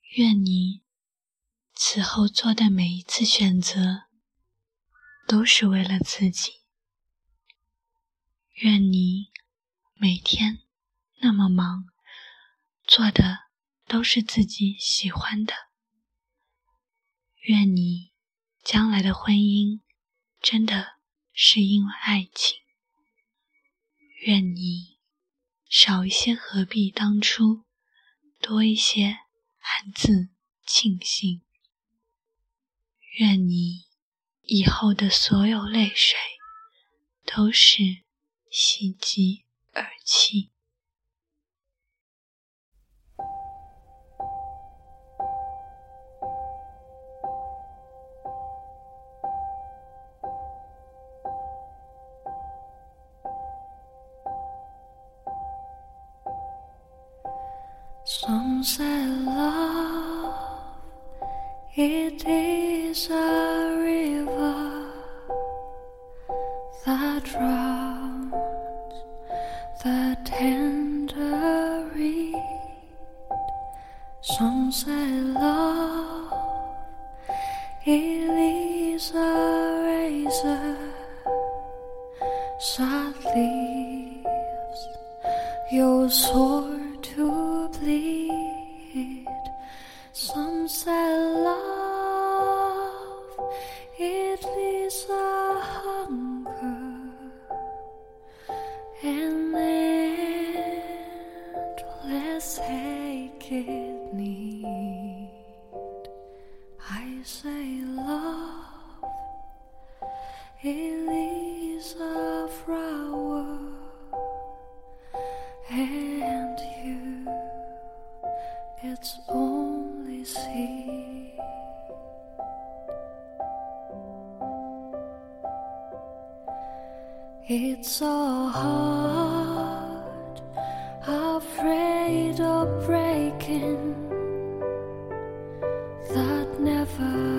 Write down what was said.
愿你此后做的每一次选择都是为了自己。愿你每天那么忙，做的都是自己喜欢的。愿你将来的婚姻真的是因为爱情。愿你少一些何必当初，多一些暗自庆幸。愿你以后的所有泪水都是喜极而泣。 Some say love, it is a river that drowns the tender reed. Some say love, it is a razor that leaves your sword to bleed. Some say love, it is a hunger, an endless aching need. I say love, it is a flower, and you, it's only seed. It's a heart afraid of breaking, that never